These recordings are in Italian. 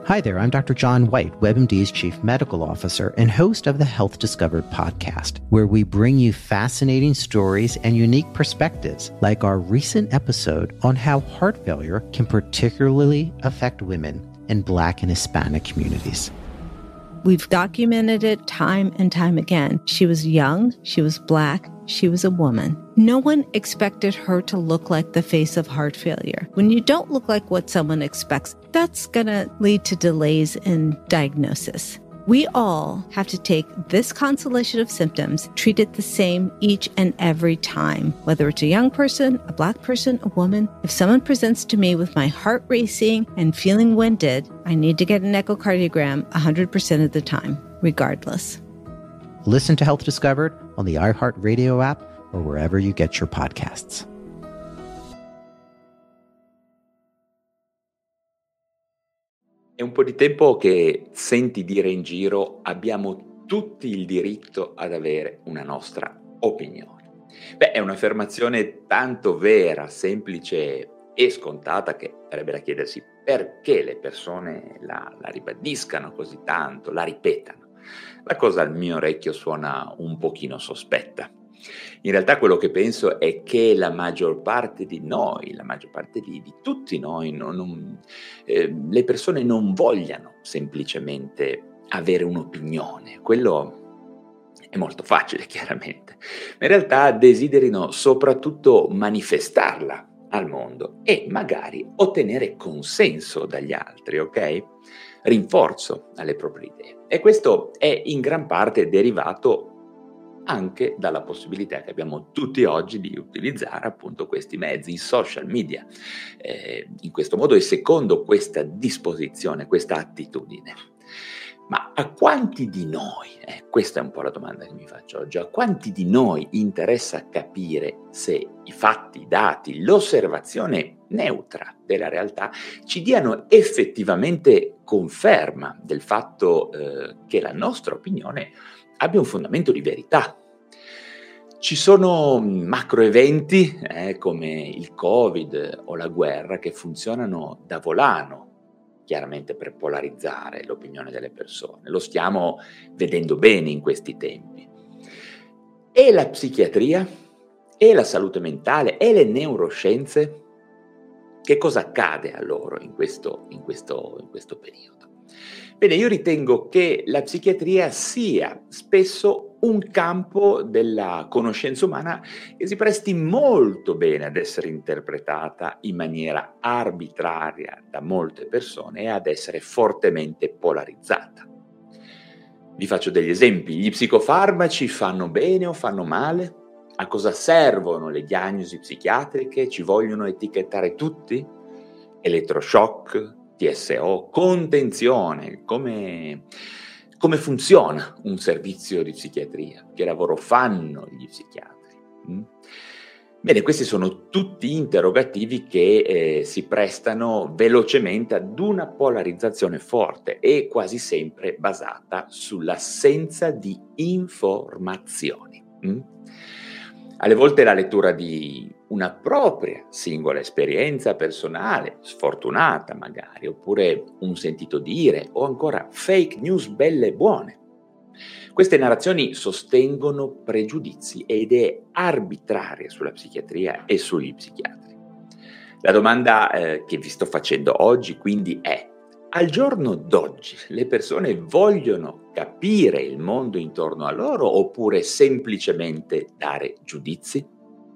Hi there, I'm Dr. John White, WebMD's Chief Medical Officer and host of the Health Discovered podcast, where we bring you fascinating stories and unique perspectives, like our recent episode on how heart failure can particularly affect women in Black and Hispanic communities. We've documented it time and time again. She was young, she was Black, she was a woman. No one expected her to look like the face of heart failure. When you don't look like what someone expects, that's going to lead to delays in diagnosis. We all have to take this constellation of symptoms, treat it the same each and every time, whether it's a young person, a Black person, a woman. If someone presents to me with my heart racing and feeling winded, I need to get an echocardiogram 100% of the time, regardless. Listen to Health Discovered on the iHeartRadio app or wherever you get your podcasts. È un po' di tempo che senti dire in giro: abbiamo tutti il diritto ad avere una nostra opinione. Beh, è un'affermazione tanto vera, semplice e scontata che sarebbe da chiedersi perché le persone la ribadiscano così tanto, la ripetano. La cosa al mio orecchio suona un pochino sospetta. In realtà quello che penso è che la maggior parte di noi, la maggior parte di tutti noi, le persone non vogliano semplicemente avere un'opinione. Quello è molto facile, chiaramente. Ma in realtà desiderino soprattutto manifestarla al mondo e magari ottenere consenso dagli altri, ok? Rinforzo alle proprie idee. E questo è in gran parte derivato anche dalla possibilità che abbiamo tutti oggi di utilizzare appunto questi mezzi, i social media, in questo modo e secondo questa disposizione, questa attitudine. Ma a quanti di noi, questa è un po' la domanda che mi faccio oggi, a quanti di noi interessa capire se i fatti, i dati, l'osservazione neutra della realtà ci diano effettivamente conferma del fatto che la nostra opinione abbia un fondamento di verità. Ci sono macro eventi come il Covid o la guerra che funzionano da volano, chiaramente per polarizzare l'opinione delle persone. Lo stiamo vedendo bene in questi tempi. E la psichiatria, e la salute mentale, e le neuroscienze, che cosa accade a loro in questo periodo? Bene, io ritengo che la psichiatria sia spesso un campo della conoscenza umana che si presti molto bene ad essere interpretata in maniera arbitraria da molte persone e ad essere fortemente polarizzata. Vi faccio degli esempi. Gli psicofarmaci fanno bene o fanno male? A cosa servono le diagnosi psichiatriche? Ci vogliono etichettare tutti? Elettroshock, TSO, contenzione, come funziona un servizio di psichiatria, che lavoro fanno gli psichiatri. Bene, questi sono tutti interrogativi che si prestano velocemente ad una polarizzazione forte e quasi sempre basata sull'assenza di informazioni. Alle volte la lettura di una propria singola esperienza personale, sfortunata magari, oppure un sentito dire, o ancora fake news belle e buone. Queste narrazioni sostengono pregiudizi e idee arbitrarie sulla psichiatria e sugli psichiatri. La domanda che vi sto facendo oggi quindi è: al giorno d'oggi le persone vogliono capire il mondo intorno a loro oppure semplicemente dare giudizi?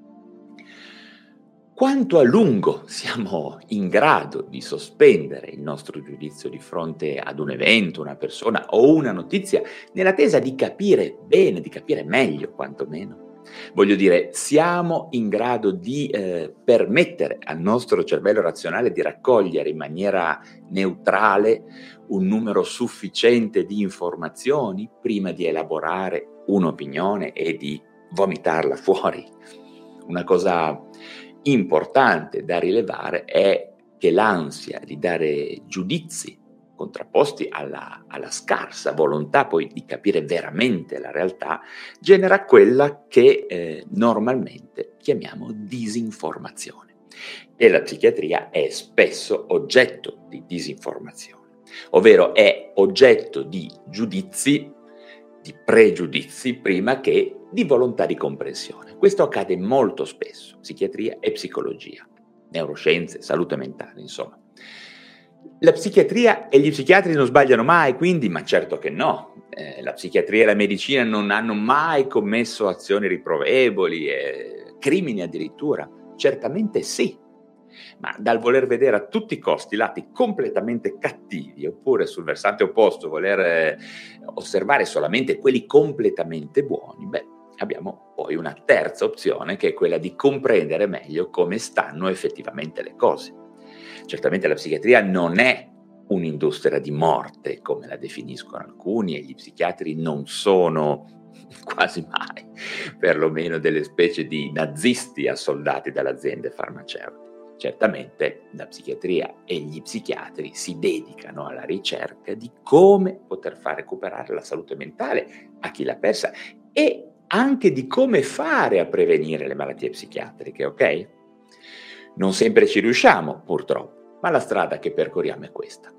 Quanto a lungo siamo in grado di sospendere il nostro giudizio di fronte ad un evento, una persona o una notizia nell'attesa di capire bene, di capire meglio quantomeno? Voglio dire, siamo in grado di permettere al nostro cervello razionale di raccogliere in maniera neutrale un numero sufficiente di informazioni prima di elaborare un'opinione e di vomitarla fuori? Una cosa importante da rilevare è che l'ansia di dare giudizi contrapposti alla scarsa volontà poi di capire veramente la realtà genera quella che normalmente chiamiamo disinformazione. E la psichiatria è spesso oggetto di disinformazione. ovvero è oggetto di giudizi, di pregiudizi, prima che di volontà di comprensione. Questo accade molto spesso, psichiatria e psicologia, neuroscienze, salute mentale, insomma. La psichiatria e gli psichiatri non sbagliano mai, quindi, ma certo che no. La psichiatria e la medicina non hanno mai commesso azioni riprovevoli, crimini addirittura. Certamente sì, ma dal voler vedere a tutti i costi lati completamente cattivi, oppure sul versante opposto voler osservare solamente quelli completamente buoni, abbiamo poi una terza opzione, che è quella di comprendere meglio come stanno effettivamente le cose. Certamente la psichiatria non è un'industria di morte, come la definiscono alcuni, e gli psichiatri non sono quasi mai, perlomeno, delle specie di nazisti assoldati dalle aziende farmaceutiche. Certamente la psichiatria e gli psichiatri si dedicano alla ricerca di come poter far recuperare la salute mentale a chi l'ha persa e anche di come fare a prevenire le malattie psichiatriche, ok? Non sempre ci riusciamo, purtroppo, ma la strada che percorriamo è questa.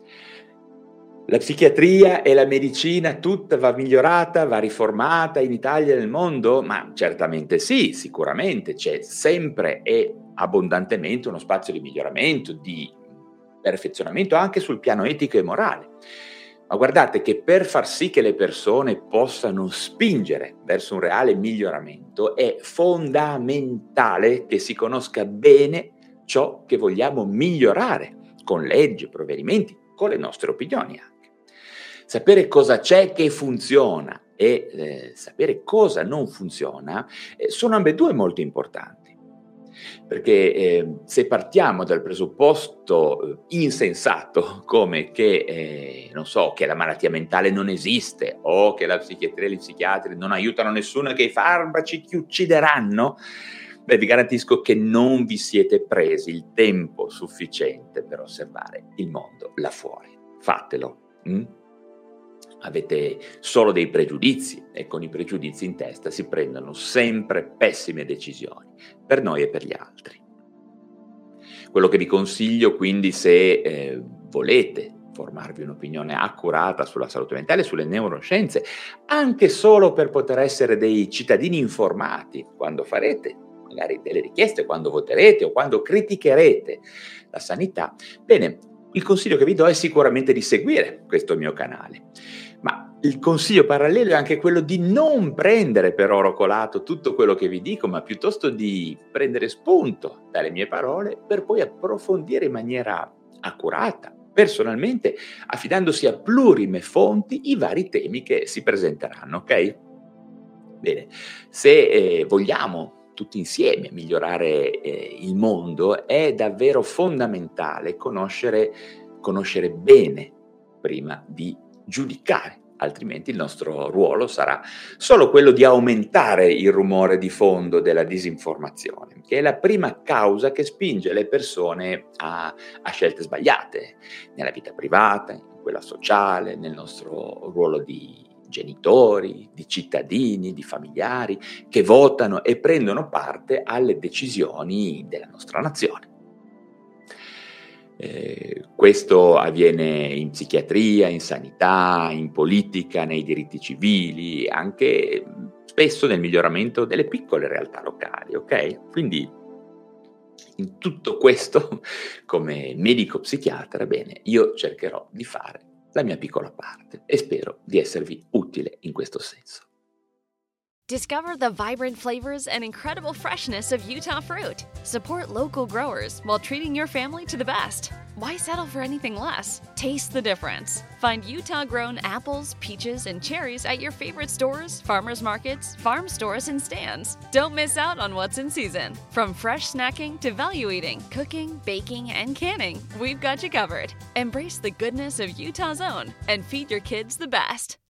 La psichiatria e la medicina tutta va migliorata, va riformata in Italia e nel mondo? Ma certamente sì, sicuramente c'è sempre e abbondantemente uno spazio di miglioramento, di perfezionamento anche sul piano etico e morale. Ma guardate che per far sì che le persone possano spingere verso un reale miglioramento è fondamentale che si conosca bene ciò che vogliamo migliorare con leggi, provvedimenti, con le nostre opinioni anche. Sapere cosa c'è che funziona e sapere cosa non funziona sono ambedue molto importanti. Perché se partiamo dal presupposto insensato come che, che la malattia mentale non esiste o che la psichiatria e gli psichiatri non aiutano nessuno e che i farmaci ti uccideranno, vi garantisco che non vi siete presi il tempo sufficiente per osservare il mondo là fuori. Fatelo. Avete solo dei pregiudizi e con i pregiudizi in testa si prendono sempre pessime decisioni per noi e per gli altri. Quello che vi consiglio quindi, se volete formarvi un'opinione accurata sulla salute mentale, sulle neuroscienze, anche solo per poter essere dei cittadini informati quando farete magari delle richieste, quando voterete o quando criticherete la sanità, bene, il consiglio che vi do è sicuramente di seguire questo mio canale. Ma il consiglio parallelo è anche quello di non prendere per oro colato tutto quello che vi dico, ma piuttosto di prendere spunto dalle mie parole per poi approfondire in maniera accurata, personalmente, affidandosi a plurime fonti i vari temi che si presenteranno, ok? Bene, se vogliamo tutti insieme migliorare il mondo, è davvero fondamentale conoscere bene prima di giudicare, altrimenti il nostro ruolo sarà solo quello di aumentare il rumore di fondo della disinformazione, che è la prima causa che spinge le persone a scelte sbagliate nella vita privata, in quella sociale, nel nostro ruolo di genitori, di cittadini, di familiari che votano e prendono parte alle decisioni della nostra nazione. Questo avviene in psichiatria, in sanità, in politica, nei diritti civili, anche spesso nel miglioramento delle piccole realtà locali, ok? Quindi in tutto questo, come medico psichiatra, bene, io cercherò di fare la mia piccola parte e spero di esservi utile in questo senso. Discover the vibrant flavors and incredible freshness of Utah fruit. Support local growers while treating your family to the best. Why settle for anything less? Taste the difference. Find Utah-grown apples, peaches, and cherries at your favorite stores, farmers markets, farm stores, and stands. Don't miss out on what's in season. From fresh snacking to value eating, cooking, baking, and canning, we've got you covered. Embrace the goodness of Utah's own and feed your kids the best.